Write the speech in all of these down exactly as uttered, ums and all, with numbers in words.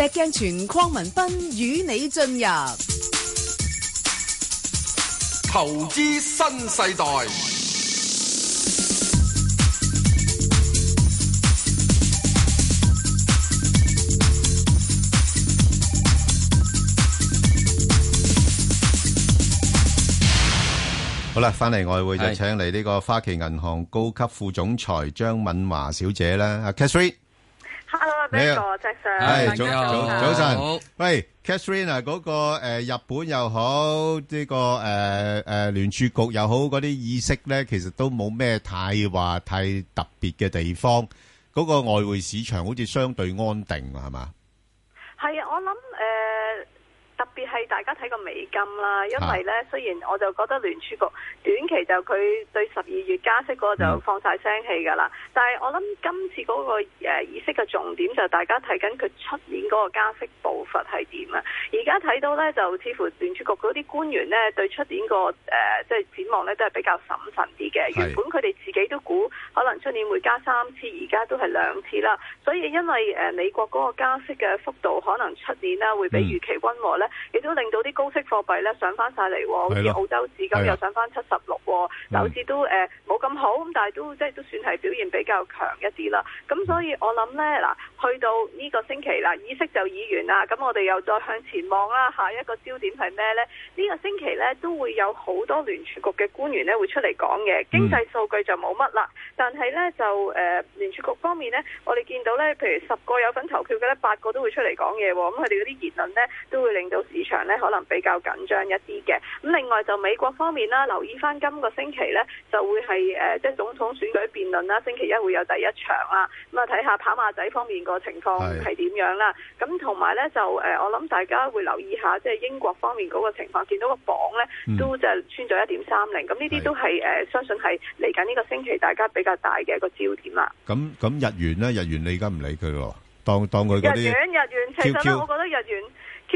石鏡泉鄺民彬與你進入投資新世代。 好啦，翻嚟外匯就請嚟呢個花旗銀行高級副總裁張敏華小姐啦，阿 Catherine。Hello， 邊個石 Sir？ 係早早早晨。喂 ，Catherine 啊，嗰個誒日本又好，呢個誒誒聯儲局又好，嗰啲議息咧，其實都冇咩太話太特別嘅地方。嗰個外匯市場好似相對安定啊，係嘛？ 係啊，我諗誒。特別係大家睇個美金啦，因為咧雖然我就覺得聯儲局短期就佢對十二月加息嗰個就放晒聲氣㗎啦，嗯、但係我諗今次嗰、那個誒、呃、議息嘅重點就大家睇緊佢出年嗰個加息步伐係點啊！而家睇到咧就似乎聯儲局嗰啲官員咧對出年個誒即係展望咧都係比較審慎啲嘅。原本佢哋自己都估可能出年會加三次，而家都係兩次啦。所以因為誒、呃、美國嗰個加息嘅幅度可能出年啦會比預期溫和咧。亦都令到啲高息貨幣咧上翻晒嚟，好似澳洲紙咁又上翻七十六，樓市都誒冇咁好，咁但係都即係都算係表現比較強一啲啦。咁所以我諗咧嗱，去到呢個星期啦，議息就議完啦，咁我哋又再向前望啦，下一個焦點係咩咧？呢、這個星期咧都會有好多聯儲局嘅官員咧會出嚟講嘅，經濟數據就冇乜啦，但係咧就誒、呃、聯儲局方面咧，我哋見到咧，譬如十個有份投票嘅咧，八個都會出嚟講嘢喎，咁佢哋嗰啲言論咧都會令到市場咧可能比較緊張一啲嘅。咁另外就美國方面啦，留意翻今個星期咧就會係誒、呃、即係總統選舉辯論啦，星期一會有第一場啦。咁啊睇下跑馬仔方面個情況係點樣啦。咁同埋咧就誒、呃、我諗大家會留意下即係英國方面嗰個情況，見到個榜咧都就穿咗一點三零。咁呢啲都係誒、呃、相信係嚟緊呢個星期大家比較大嘅一個焦點啦。 咁咁日元咧，日元你而家唔理佢咯，當當佢嗰啲日元日元其實咧，我覺得日元 Q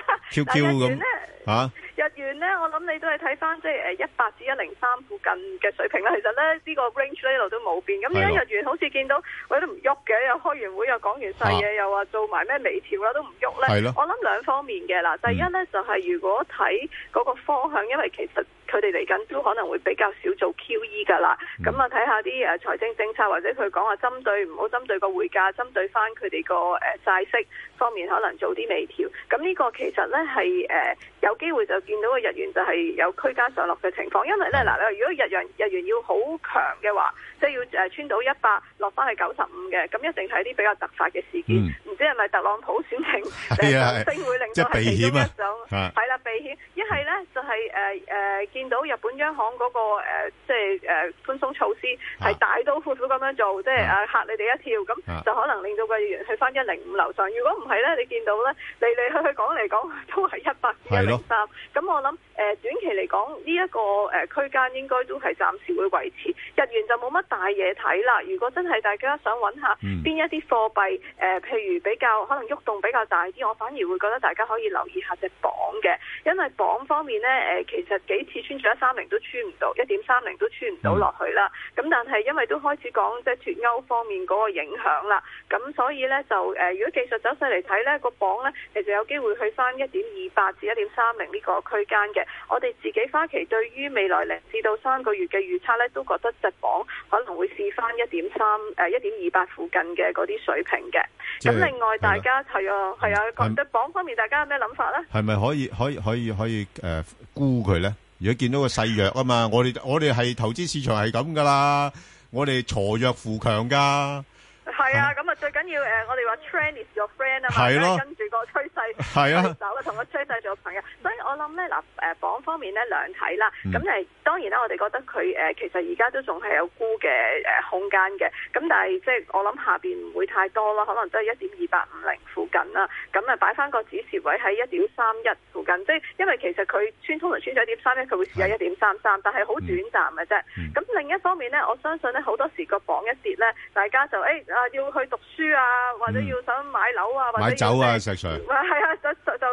Q Q 咁嚇。 日元咧，我諗你都係睇翻即係誒一百至一零三附近嘅水平啦。其實咧呢、呢個 range 呢度都冇變。咁而家日元好似見到我都唔喐嘅，又開完會又講完細嘢，啊、又話做埋咩微調啦，都唔喐咧。我諗兩方面嘅啦。第一咧、嗯、就係如果睇嗰個方向，因為其實佢哋嚟緊都可能會比較少做 Q E 㗎啦。咁啊睇下啲誒財政政策或者佢講話針對唔好針對個匯價，針對翻佢哋個誒債息方面可能做啲微調。咁呢個其實咧係誒有機會就見到個日元就係有區間上落嘅情況，因為咧嗱，你如果日元日元要好強嘅話，即係要誒穿到一百落翻去九十五嘅，咁一定係啲比較突發嘅事件，唔、嗯、知係咪特朗普選情誒上升會令到係其中一種，係啦避險。一係咧就係誒誒見到日本央行嗰、那個誒即係誒寬鬆措施係大刀闊斧咁樣做，即係誒嚇你哋一跳，咁就可能令到個日元去翻一零五樓上。如果唔係咧，你見到咧嚟嚟去去講嚟講都係一百至一零三，咁我諗誒、呃、短期嚟講呢一個誒、呃、區間應該都係暫時會維持，日元就冇乜大嘢睇啦。如果真係大家想揾下邊一啲貨幣誒、呃，譬如比較可能喐動比較大啲，我反而會覺得大家可以留意下隻鎊嘅，因為鎊方面呢，誒、呃、其實幾次穿咗一三零都穿唔到，一點三零都穿唔到落去啦。咁但係因為都開始講即係脫歐方面嗰個影響啦，咁所以呢，就誒、呃、如果技術走勢嚟睇呢，個鎊呢，其實有機會去翻一點二八至一點三零呢個區間嘅。我哋自己花旗對於未來零至到三個月嘅預測咧，都覺得隻鎊可能會試翻一點三誒一點二八附近嘅嗰啲水平嘅。咁另外大家係啊係啊，覺得鎊方面大家有咩諗法咧？係咪可以可以可以可以誒沽佢咧？如果見到個勢弱啊嘛，我哋我哋係投資市場係咁噶啦，我哋鋤弱扶強噶。係啊，咁啊最緊要誒，我哋話 trend is your friend 啊嘛，跟住個趨勢走啊，同個趨勢做朋友。所以我諗咧嗱，誒鎊方面咧兩睇啦。咁誒、嗯、當然啦，我哋覺得佢誒其實而家都仲係有沽嘅誒空間嘅。咁但係即係我諗下邊唔會太多啦，可能都係一點二八五零附近啦。咁啊擺翻個指示位喺一點三一附近，即係因為其實佢穿通常穿咗一點三一，佢會試下一點三三，但係好短暫嘅啫。咁、嗯、另一方面咧，我相信咧好多時個鎊一跌咧，大家就誒。欸啊！要去讀書啊，或者要想買樓啊，或者買酒啊，石 Sir。係啊，就就就諗。咁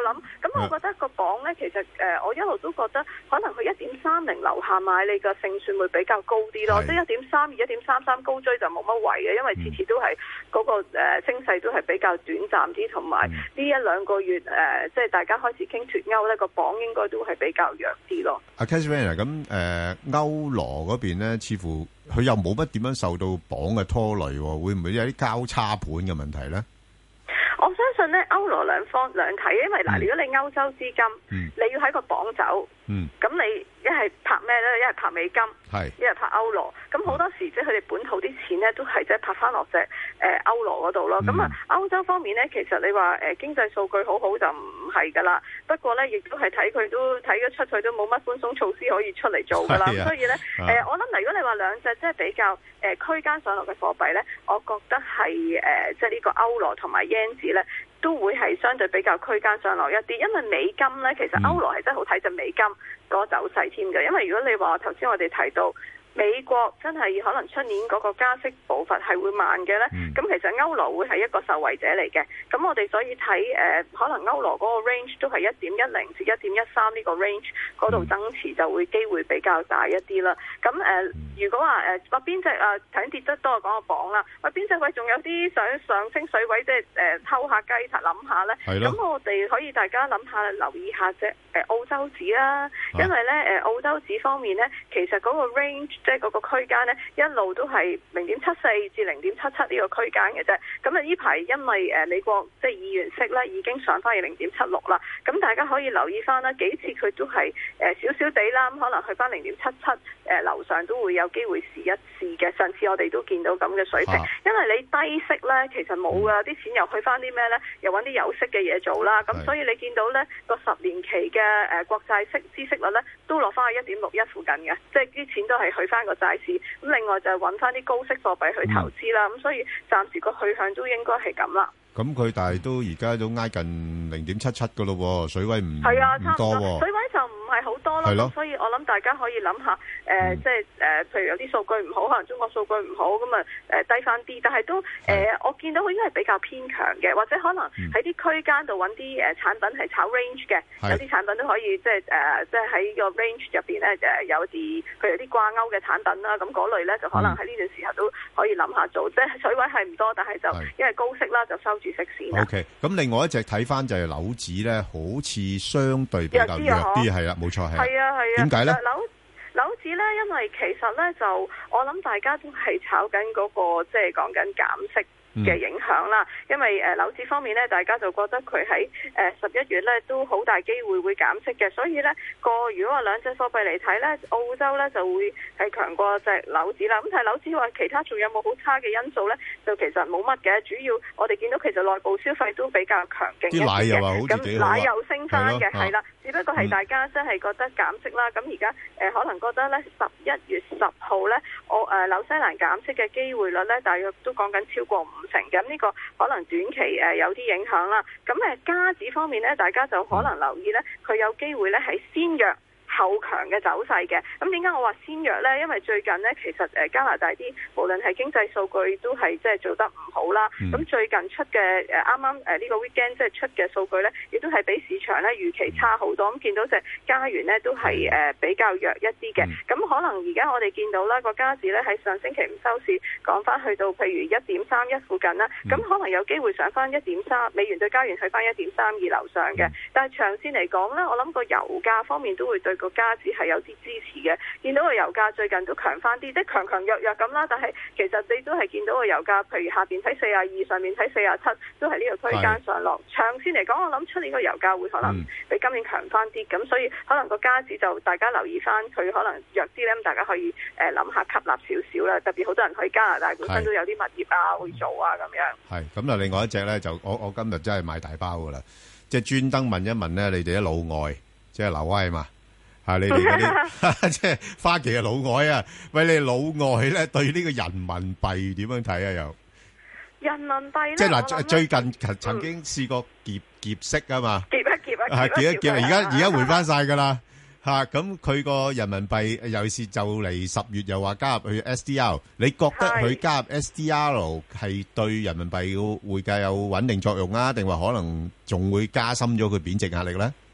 咁我覺得個榜咧，其實誒、呃、我一路都覺得可能佢一點三零樓下買你嘅勝算會比較高啲咯，即係一點三二、一點三三高追就冇乜謂嘅，因為次次都係嗰、那個誒、呃、升勢都係比較短暫啲，同埋呢一兩個月誒、呃、即係大家開始傾脫歐咧，個榜應該都係比較弱啲咯。 阿 Catherine 咁誒歐羅嗰邊咧，似乎佢又冇乜點樣受到榜嘅拖累，會唔會有啲交叉盤嘅問題咧？ 我相信咧歐羅兩方兩睇，因為嗱、嗯，如果你歐洲資金，嗯、你要喺個榜走，咁、嗯、你一係拍咩咧？一係拍美金，一係拍歐羅。咁好多時即係佢哋本土啲錢咧，都係即係拍翻落隻誒歐羅嗰度咯。咁、嗯、啊，歐洲方面咧，其實你話誒、呃、經濟數據好好就唔係噶啦。不過咧，亦都係睇佢都睇得出佢都冇乜寬鬆措施可以出嚟做噶啦。咁、啊、所以咧，誒、呃、我諗嗱，如果你話兩隻即係比較誒、呃、區間上落嘅貨幣咧，我覺得係誒、呃、即係呢個歐羅同埋 yen 字咧，都會係相對比較區間上落一啲。因為美金咧，其實歐羅係真係好睇隻美金嗰個走勢添嘅。因為如果你話頭先我哋提到美國真係可能出年嗰個加息步伐係會慢嘅呢，咁、嗯、其實歐羅會係一個受惠者嚟嘅。咁我哋所以睇誒、呃，可能歐羅嗰個 range 都係一點一零至一點一三呢個 range 嗰度增持就會機會比較大一啲啦。咁誒、呃，如果話誒話邊隻啊，頭先跌得多講個榜啦，話邊隻位仲有啲想上升水位，即係誒偷下雞諗下呢。咁我哋可以大家諗下留意下啫。誒澳洲紙啦，因為咧誒澳洲紙方面咧，其實嗰個 range 即係嗰個區間咧，一路都係零點七四至零點七七呢個區間嘅啫。咁啊呢排因為誒美國即係議員息咧已經上翻去零點七六啦，咁大家可以留意翻啦，幾次佢都係誒少少地啦，咁可能去翻零點七七誒樓上都會有機會試一試嘅。上次我哋都見到咁嘅水平，啊、因為你低息咧其實冇噶，啲、嗯、錢又去翻啲咩咧？又揾啲有息嘅嘢做啦。咁所以你見到咧個十年期嘅嘅誒國債息孳息率咧都落翻去一點六一附近嘅，即係啲錢都係去翻個債市。咁另外就係揾翻啲高息貨幣去投資啦。咁、嗯、所以暫時個去向都應該係咁啦。咁佢但係都而家都挨近零點七七噶咯，水位唔係啊，差唔多。水位就唔係好多啦。咁所以我諗大家可以諗下，誒、呃，即係誒，譬如有啲數據唔好，可能中國數據唔好，咁啊誒低翻啲。但係都誒、呃，我見到佢應該係比較偏強嘅，或者可能喺啲區間度揾啲誒產品係炒 range 嘅，有啲產品都可以即係誒，即係喺個 range 入邊咧誒有啲譬如有啲掛鈎嘅產品啦，咁嗰類咧就可能喺呢段時候都可以諗下做。即係水位係唔多，但係就因為高息啦，就收住息線。O K，咁另外一隻睇翻就係樓指咧，好似相對比較弱啲，係啦，冇錯係。係啊係啊。點解咧？樓樓指咧，因為其實咧就我諗大家都係炒緊嗰個即係講緊減息嘅影響啦，因為誒樓市方面咧，大家就覺得佢喺誒十一月咧都好大機會會減息嘅，所以咧個如果話兩隻貨幣嚟睇咧，澳洲咧就會係強過隻樓指啦。咁但係樓指話其他仲有冇好差嘅因素咧？就其實冇乜嘅，主要我哋見到其實內部消費都比較強勁一啲嘅，啲奶又話好似幾好啊，咁奶又升翻嘅，係啦。只不過係大家真係覺得減息啦，咁而家誒可能覺得咧十一月十號咧，我誒紐西蘭減息嘅機會率咧，大約都講緊超過五成嘅，咁呢個可能短期誒有啲影響啦。咁誒加指方面咧，大家就可能留意咧，佢有機會咧係先弱後強嘅走勢嘅。咁點解我話先弱呢？因為最近呢，其實誒加拿大啲無論係經濟數據都係即係做得唔好啦。咁、嗯、最近出嘅誒啱啱誒呢個 weekend 即係出嘅數據呢，亦都係比市場咧預期差好多。咁見到隻加元呢，都係誒比較弱一啲嘅。咁、嗯、可能而家我哋見到啦個加指呢，喺上星期五收市講翻去到譬如一點三一附近啦。咁、嗯、可能有機會上翻一點三美元對加元去翻一點三二樓上嘅、嗯。但係長線嚟講呢，我諗個油價方面都會對個加指係有啲支持嘅，見到個油價最近都強翻啲，即係強強弱弱咁啦。但係其實你都係見到個油價，譬如下邊睇四十二，上面睇四十七，都係呢個區間上落。長線嚟講，我諗出年個油價會可能比今年強翻啲，咁、嗯、所以可能個加指就大家留意翻，佢可能弱啲咧，咁大家可以誒諗下吸納少少啦。特別好多人去加拿大本身都有啲物業啊會做啊咁樣。係咁啊，另外一隻咧就我我今日真係買大包噶啦，即係專登問一問咧，你哋啲老外即係留威嘛？啊！你哋嗰啲即係花旗嘅老外啊，喂！你老外咧對呢個人民幣點樣睇啊？又人民幣咧，即係嗱，最近曾經試過劫劫息啊嘛，劫一劫啊，係劫一劫，而家而家回翻晒噶啦吓。咁佢個人民幣尤其是就嚟十月又話加入去 S D R， 你覺得佢加入 S D R 係對人民幣嘅匯價有穩定作用啊？定話可能仲會加深咗佢貶值壓力咧？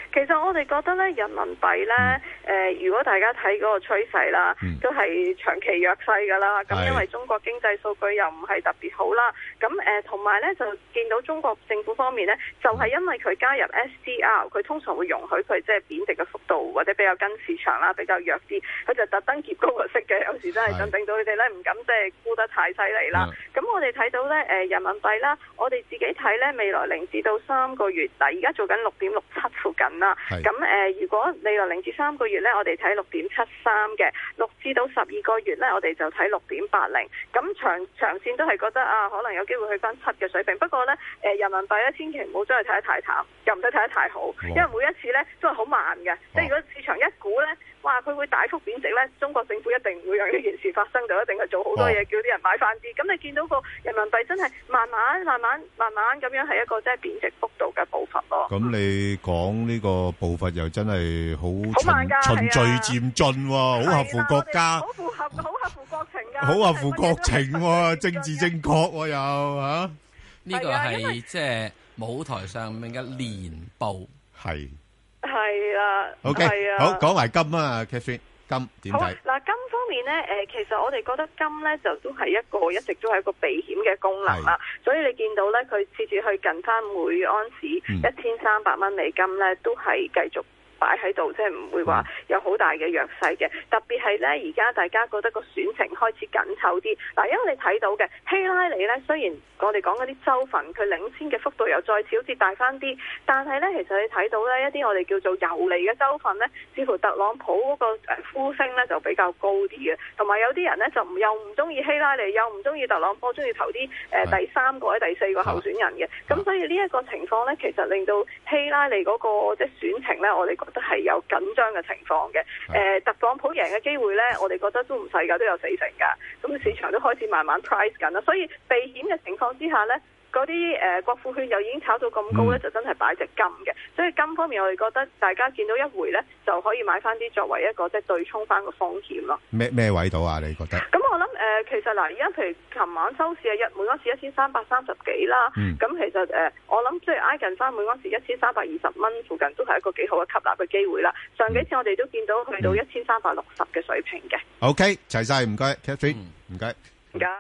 其實我哋覺得咧，人民幣咧，誒、嗯呃，如果大家睇嗰個趨勢啦，嗯、都係長期弱勢噶啦。咁因為中國經濟數據又唔係特別好啦。咁誒，同埋咧就見到中國政府方面咧，就係、是、因為佢加入 S D R， 佢通常會容許佢即係貶值嘅幅度或者比較跟市場啦，比較弱啲。佢就特登劫高個息嘅，有時真係真令到你哋咧唔敢即係沽得太犀利啦。咁、嗯、我哋睇到咧，誒，人民幣啦，我哋自己睇咧，未來零至到三個月，嗱，而家做緊六點六七附近啦。咁誒、呃，如果未來零至三個月咧，我哋睇六點七三嘅；六至到十二個月咧，我哋就睇六點八零。咁長長線都係覺得啊，可能有機會去翻七嘅水平。不過咧，誒、呃，人民幣咧，千祈唔好將佢睇得太淡，又唔使睇得太好，因為每一次咧都係好慢嘅。即係如果市場一估咧，哇，佢會大幅貶值咧，中國政府一定唔會讓呢件事發生，就一定係做好多嘢，叫啲人買翻啲。咁你見到個人民幣真係慢慢、慢慢、慢慢咁樣係一個即係貶值幅度嘅步伐咯。 咁你講呢個步伐又真係好循循序漸進喎，好合乎國家，好符合好合乎國情㗎，好合乎國情喎，政治正確喎又嚇。 呢個係即係舞台上面嘅年報係。 係啦 ，OK，好講埋金啊 ，Catherine，金點睇？ 嗱，金方面咧，誒、呃，其實我哋覺得金咧就都係一個一直都係一個避險嘅功能啦，所以你見到咧，佢次次去近翻每安士一千三百蚊美金咧，都係繼續擺喺度，即係唔會話有好大嘅弱勢嘅。特別係咧，而家大家覺得個選情開始緊湊啲。嗱，因為你睇到嘅希拉里咧，雖然我哋講嗰啲州份佢領先嘅幅度又再次好似大翻啲，但係咧，其實你睇到咧一啲我哋叫做游離嘅州份咧，似乎特朗普嗰個誒呼聲咧就比較高啲嘅，同埋有啲人咧就又唔中意希拉里，又唔中意特朗普，中意投啲誒第三個或者第四個候選人嘅。咁所以呢一個情況咧，其實令到希拉里嗰個即係選情咧，我哋覺得係有緊張嘅情況嘅。誒，特朗普贏嘅機會咧，我哋覺得都唔細㗎，都有四成㗎。咁市場都開始慢慢 price 緊啦，所以避險嘅情況之下呢，嗰啲誒國庫券又已經炒到咁高呢，就真係擺隻金嘅。所以金方面，我哋覺得大家見到一回呢，就可以買翻啲作為一個即係對沖翻個風險咯。 咩咩位到啊？你覺得？咁我諗誒、呃，其實嗱，而家譬如琴晚收市係一每安士一千三百三十幾啦。咁、嗯、其實誒、呃，我諗即係挨近翻每安士一千三百二十蚊附近，都係一個幾好嘅吸納嘅機會啦。上幾次我哋都見到去到一千三百六十嘅水平嘅。OK， 齊晒，唔該 Catherine，唔該， 唔該。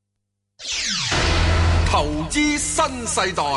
投資新世代，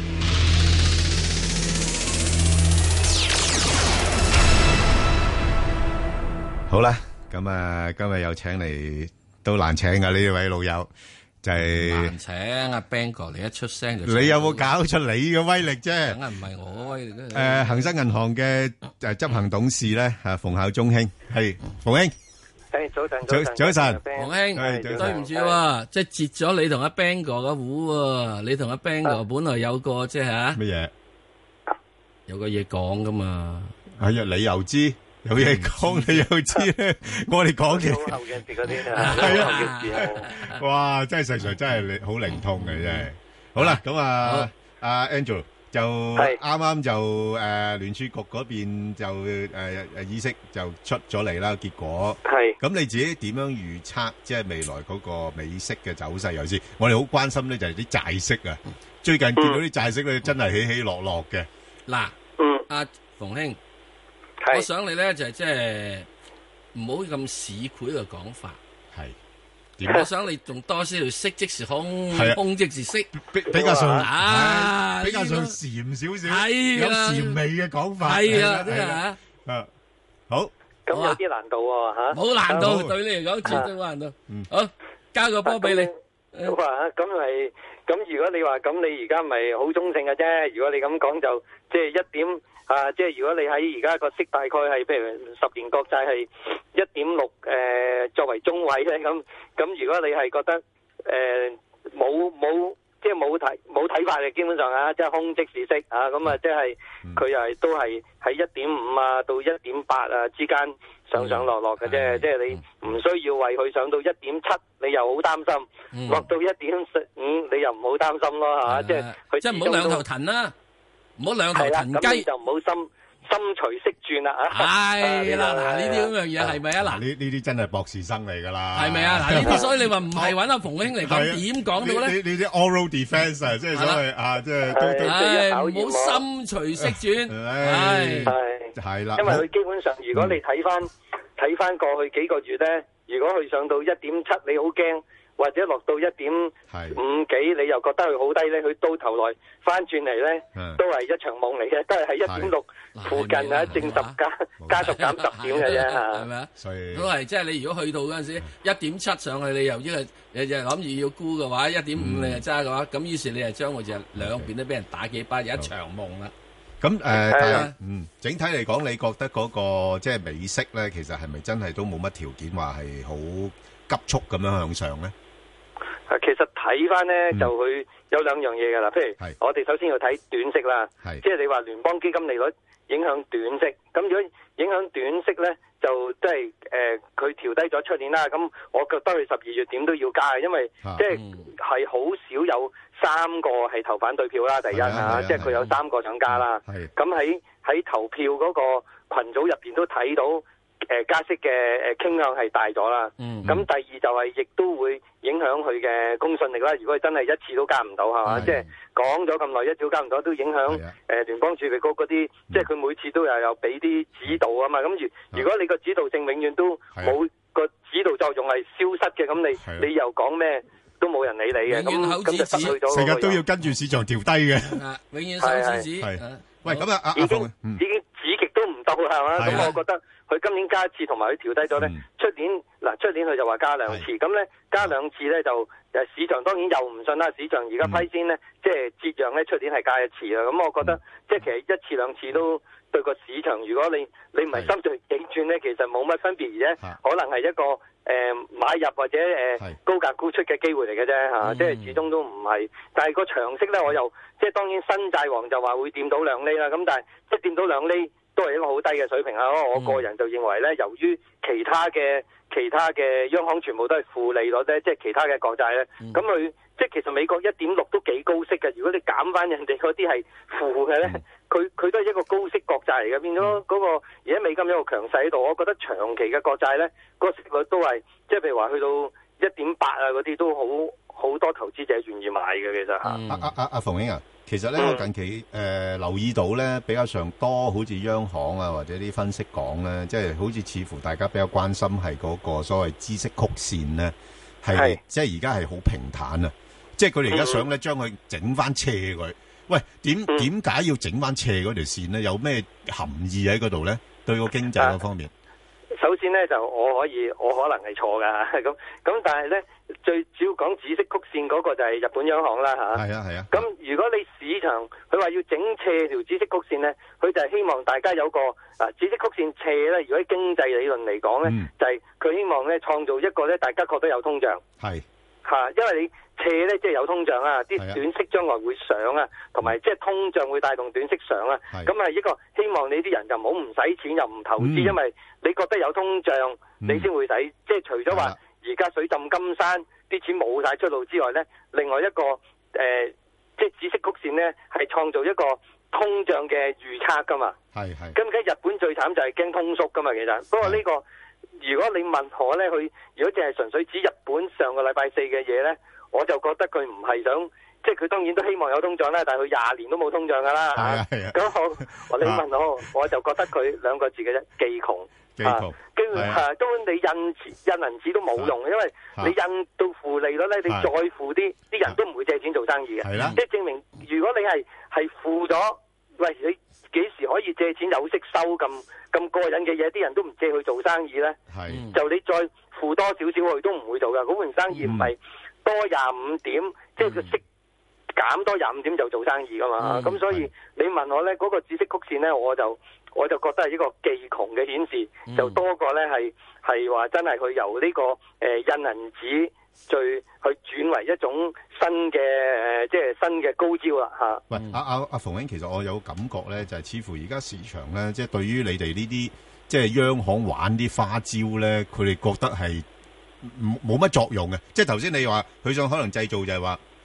好啦，咁啊，今日又請嚟都難請噶呢位老友，就係難請阿 Bang 哥嚟一出聲就。 你有冇搞出你嘅威力啫？ 梗係唔係我威力啫。 誒，恒生銀行嘅誒執行董事咧，啊，馮孝忠兄，係馮兄。 誒，早晨， 早早晨， 馮兄，對唔住喎，即係截咗你同阿 Bang 哥嘅糊喎，你同阿 Bang 哥本來有個即係吓乜嘢， 有個嘢講噶嘛。 係啊，你又知有嘢講，你又知咧，我哋講嘅後嘅事嗰啲啊，係啊， 哇，真係實在真係好靈通嘅真係。好啦，咁啊，阿 Angel。就啱啱就誒聯儲局嗰邊就誒誒議息就出咗嚟啦，結果係咁你自己點樣預測即係未來嗰個美息嘅走勢？尤其是我哋好關心咧，就係啲債息啊！最近見到啲債息咧，真係起起落落嘅。嗱， 嗯，阿馮兄，我想你咧就係即係唔好咁市儈嘅講法。係。我想你仲多少條息即時空，空即時息， 比比較上啊，比較上禪少少，有禪味嘅講法。 係啊，真係啊， 啊，好， 咁有啲難度喎吓， 冇難度，對你嚟講絕對冇難度。好，交個波俾你。 好啊，咁咪咁如果你話咁，你而家咪好中性嘅啫。如果你咁講就即係一點。啊，即係如果你喺而家個息大概係，譬如十年國債係一點六，誒作為中位咧，咁咁如果你係覺得誒冇冇即係冇睇冇睇法嘅，基本上啊，即係空即是息啊，咁啊即係佢又係都係喺一點五啊到一點八啊之間上上落落嘅啫，即係你唔需要為佢上到一點七，你又好擔心；落到一點五，你又唔好擔心咯嚇，即係佢即係唔好兩頭騰啦。唔好兩頭騰雞， 就唔好心心隨識轉啊！ 係啦，嗱呢啲咁樣嘢係咪啊？嗱呢呢啲真係博士生嚟㗎啦， 係咪啊？嗱呢啲所以你話唔係揾阿馮兄嚟講點講到咧？ 呢呢啲 oral defence 啊，即係所謂啊，即係都都係唔好心隨識轉，係係係啦。 因為佢基本上，如果你睇翻睇翻過去幾個月咧，如果佢上到一點七，你好驚。或者落到一點五幾，你又覺得佢好低咧？佢到頭來翻轉嚟咧，都係一場夢嚟嘅，都係喺一點六附近啊，正十加加十減十點嘅啫嚇， 係咪啊？所以都係即係你如果去到嗰陣時一點七上去，你又呢個你就諗住要沽嘅話，一點五你就揸嘅話，咁於是你就將會就兩邊都俾人打幾巴，有一場夢啦。 咁誒，但係嗯，整體嚟講，你覺得嗰個即係美息咧，其實係咪真係都冇乜條件話係好急速咁樣向上咧？ 其實睇翻咧就佢有兩樣嘢㗎啦，譬如我哋首先要睇短息啦，即係你話聯邦基金利率影響短息，咁如果影響短息咧，就即係誒佢調低咗出年啦，咁我覺得佢十二月點都要加嘅，因為即係係好少有三個係投反對票啦，第一啊，即係佢有三個想加啦，咁喺喺投票嗰個群組入邊都睇到。誒加息嘅誒傾向係大咗啦，咁、嗯、第二就係亦都會影響佢嘅公信力啦。如果佢真係一次都加唔到，係嘛？即係講咗咁耐，一次都加唔到，都影響誒聯邦儲備局嗰啲，即係佢每次都又有俾啲指導啊嘛。咁如如果你個指導性永遠都冇個指導作用係消失嘅，咁你你又講咩都冇人理你嘅，咁咁就失去咗。 成日都要跟住市場調低嘅， 永遠收指指。 喂，咁啊，阿已經已經指極都唔到係嘛？咁我覺得。佢今年加一次，同埋佢調低咗咧。出、嗯、年嗱，出年佢就話加兩次，咁咧加兩次咧就誒市場當然又唔信啦。市場而家批先咧，嗯、即係折讓咧，出年係加一次啦。咁我覺得、嗯、即係其實一次兩次都對個市場，如果你你唔係心隨境轉咧，其實冇乜分別，而且可能係一個誒、呃、買入或者誒、呃、高價沽出嘅機會嚟嘅啫嚇。即係始終都唔係，但係個長息咧，我又即係當然新債王就話會掂到兩厘啦。咁但係即係掂到兩厘。都係一個好低嘅水平啊！我個人就認為咧，由於其他嘅其他嘅央行全部都係負利率咧，即係其他嘅國債咧，咁佢、嗯、即係其實美國一點六都幾高息嘅。如果你減翻人哋嗰啲係負嘅咧，佢佢、嗯、都係一個高息國債嚟嘅，變咗嗰個而家美金有個強勢喺度。我覺得長期嘅國債咧，個息率都係即係譬如話去到一點八啊嗰啲都好好多投資者願意買嘅。其實嚇， 阿阿阿阿馮兄啊。其實咧，我近期誒、呃、留意到咧，比較上多好似央行啊，或者啲分析講咧，即係好似似乎大家比較關心係嗰個所謂孳息曲線咧，係即係而家係好平坦啊！即係佢哋而家想咧將佢整翻斜佢。喂，點點解要整翻斜嗰條線咧？有咩含義喺嗰度咧？對個經濟嗰方面。 首先咧就我可以我可能係錯噶咁咁，但係咧最主要講孳息曲線嗰個就係日本央行啦吓。係啊係啊。咁、啊、如果你市場佢話要整斜條孳息曲線咧，佢就係希望大家有個啊孳息曲線斜咧。如果喺經濟理論嚟講咧，嗯、就係佢希望咧創造一個咧大家覺得有通脹。係吓、啊，因為你斜咧即係有通脹啊，啲短息將來會上啊，同埋即係通脹會帶動短息上啊。咁係一個希望你啲人就唔好唔使錢又唔投資，嗯、因為你覺得有通脹，你先會使。嗯、即係除咗話而家水浸金山啲錢冇晒出路之外咧，另外一個誒、呃，即係孳息曲線咧係創造一個通脹嘅預測噶嘛。係係。咁而家日本最慘就係驚通縮噶嘛，其實。不過呢、呢個如果你問我咧，佢如果淨係純粹指日本上個禮拜四嘅嘢咧，我就覺得佢唔係想。即係佢當然都希望有通脹啦，但係佢廿年都冇通脹噶啦。係啊係啊。咁我你問我，我就覺得佢兩個字嘅啫，技窮。技窮。跟住係根本你印印銀紙都冇用，因為你印到負利率咧，你再負啲，啲人都唔會借錢做生意嘅。係啦。即係證明，如果你係係負咗，喂，你幾時可以借錢有息收咁咁過癮嘅嘢？啲人都唔借去做生意咧。係。就你再負多少少佢都唔會做噶。嗰盤生意唔係多廿五點，即係佢息。減多廿五點就做生意噶嘛，咁、嗯、所以你問我咧，嗰、那個孳息曲線咧，我就我就覺得係一個技窮嘅顯示，嗯、就多過咧係係話真係佢由呢、這個誒、呃、印銀紙，再去轉為一種新嘅誒、呃，即係新嘅高招啦嚇。 喂，阿阿阿馮兄，其實我有感覺咧，就係、是、似乎而家市場咧，即係對於你哋呢啲即係央行玩啲花招咧，佢哋覺得係冇乜作用嘅。即係頭先你話佢想可能製造就係話。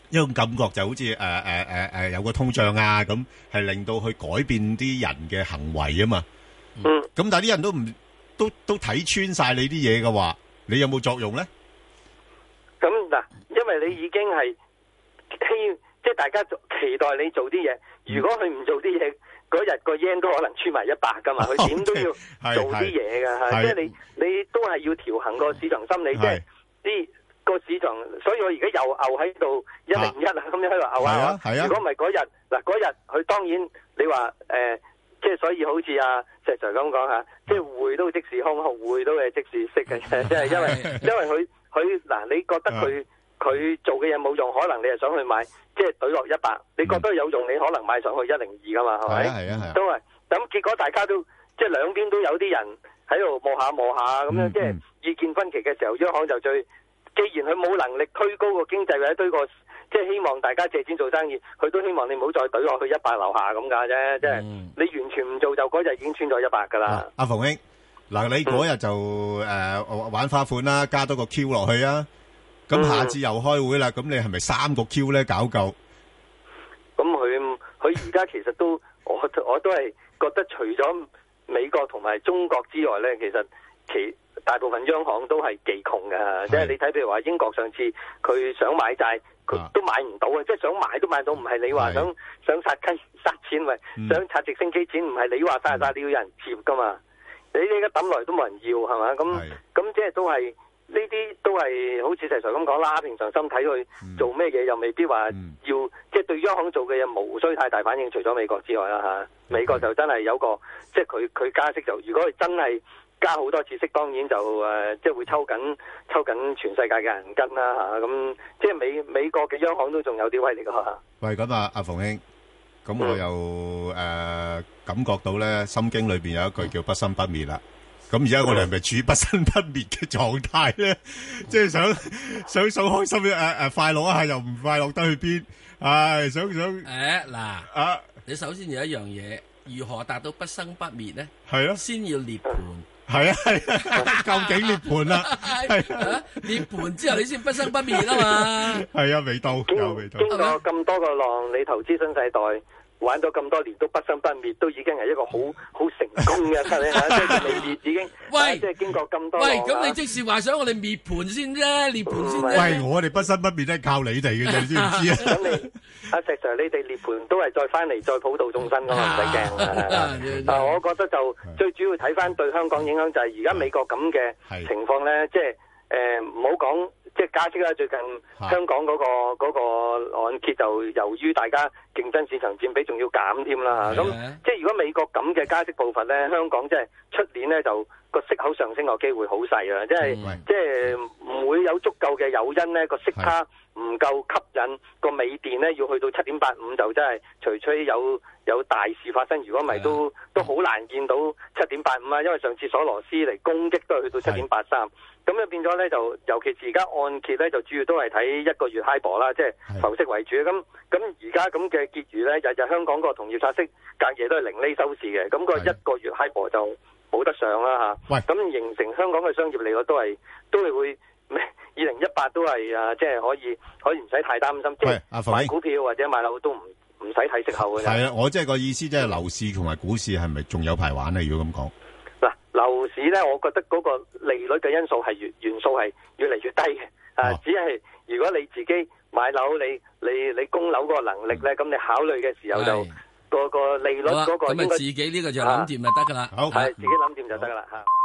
一種感覺就好似誒誒誒誒有個通脹啊，咁係令到去改變啲人嘅行為啊嘛。嗯。咁但係啲人都唔都都睇穿晒你啲嘢嘅話，你有冇作用咧？ 咁嗱，因為你已經係希，即係大家期待你做啲嘢。如果佢唔做啲嘢，嗰日個 yen 都可能穿埋一百噶嘛。佢點都要做啲嘢噶嚇。即係你你都係要調衡個市場心理，即係啲。個市場，所以我而家又牛喺度一零一啊，咁樣喺度牛啊！如果唔係嗰日嗱，嗰日佢當然你話誒、呃，即係所以好似阿石 Sir 咁講嚇，即係匯都即時空，匯都係即時息嘅，即係因為因為佢佢嗱，你覺得佢佢做嘅嘢冇用，可能你係想去買，即係懟落一百，你覺得有用，你可能買上去一零二噶嘛，係咪？係啊係啊，都係咁，結果大家都即係兩邊都有啲人喺度摸下摸下咁樣，即係意見分歧嘅時候，央行就最。既然佢冇能力推高個經濟或者推個，即係希望大家借錢做生意，佢都希望你唔好再懟落去一百樓下咁㗎啫。即係、嗯、你完全唔做，就嗰日已經穿咗一百㗎啦。阿馮兄，嗱你嗰日就誒、嗯呃、玩花款啦，加多個 Q 落去啊。咁下次又開會啦，咁、嗯、你係咪三個 Q 咧搞夠？ 咁佢佢而家其實都我我都係覺得除咗美國同埋中國之外咧，其實其大部分央行都係技窮嘅，即係你睇譬如話英國上次佢想買債，佢都買唔到啊！即係想買都買到，唔係你話想想殺雞殺錢，咪、嗯、想拆直升機錢，唔係你話殺殺你要有人接噶嘛？你呢家抌來都冇人要係嘛？咁咁即係都係呢啲都係好似石 Sir 咁講啦，平常心睇佢做咩嘢，又未必話要，嗯、即係對央行做嘅嘢無需太大反應，除咗美國之外啦嚇、啊。美國就真係有個即係佢佢加息就，如果佢真係加好多次息，當然就誒、呃，即係會抽緊抽緊全世界嘅人跟啦嚇，咁、啊、即係美美國嘅央行都仲有啲威力㗎嚇。喂， 咁啊，阿馮兄，咁我又誒、嗯呃、感覺到咧，《心經》裏邊有一句叫不生不滅啦。咁而家我哋係咪處於不生不滅嘅狀態咧？即係想想想開心誒誒、呃、快樂一下，又唔快樂得去邊？唉，想想誒嗱啊，你首先有一樣嘢，如何達到不生不滅咧？係啊，先要涅槃。 係啊係啊，究竟涅槃啦？係啊，涅槃之後你先不生不滅啊嘛。係啊，未到，有未到。 經過咁多個浪，你投資新世代玩咗咁多年都不生不滅，都已經係一個好好成功嘅，係咪啊？即係未滅已經。喂，即係經過咁多浪。喂，咁你即是話想我哋滅盤先啫，涅槃先啫。 喂，我哋不生不滅都係靠你哋嘅啫，你知唔知啊？ 咁你阿石 Sir，你哋涅槃都係再翻嚟再普度眾生噶嘛，唔使驚。啊，我覺得就最主要睇翻對香港影響就係而家美國咁嘅情況咧，即係誒唔好講。即係加息啦！最近香港嗰、嗰個嗰個按揭就由於大家競爭市場佔比仲要減添啦嚇，咁即係如果美國咁嘅加息步伐咧，香港即係出年咧就個息口上升個機會好細啊！即係即係唔會有足夠嘅誘因咧，個息差唔夠吸引，個美電咧要去到七點八五就真係除非有有大事發生，如果唔係都都好難見到七點八五啊！因為上次索羅斯嚟攻擊都係去到七點八三。咁就變咗咧，就尤其是而家按揭咧，就主要都係睇一個月 HIBOR 啦，即係浮息為主。咁咁而家咁嘅結餘咧，日日香港個同業拆息隔夜都係零厘收市嘅，咁、個一個月 HIBOR 就冇得上啦嚇。咁形成香港嘅商業利率都係都係會二零一八都係啊，即係可以可以唔使太擔心，即係買股票或者買樓都唔唔使睇息口嘅。係啊， 我即係個意思，即係樓市同埋股市係咪仲有排玩咧？如果咁講。 樓市咧，我覺得嗰個利率嘅因素係元元素係越嚟越低嘅，啊，只係如果你自己買樓，你你你供樓嗰個能力咧，咁、嗯、你考慮嘅時候就個個利率嗰個應該咁啊，自己呢個就諗掂就得噶啦， 係自己諗掂就得噶啦嚇。